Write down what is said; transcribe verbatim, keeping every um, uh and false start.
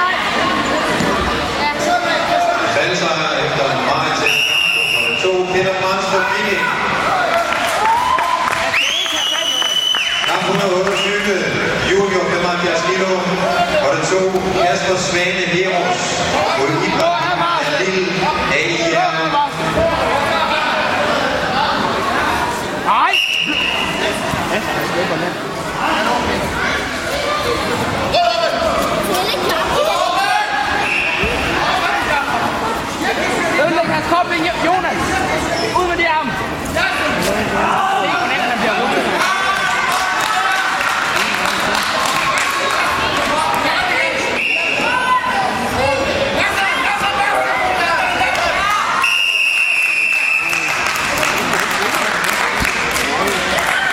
Valgsejr efter en meget tæt kamp. Nummer to, Peter Brandstrup Viking. Kamp et hundrede og otteogtyve, junior femoghalvfjerds kilo. Og det to, Kasper Svane Leros mod Ibrahim Halil A I R. Nej! Ødelæg hans kop, Jonas!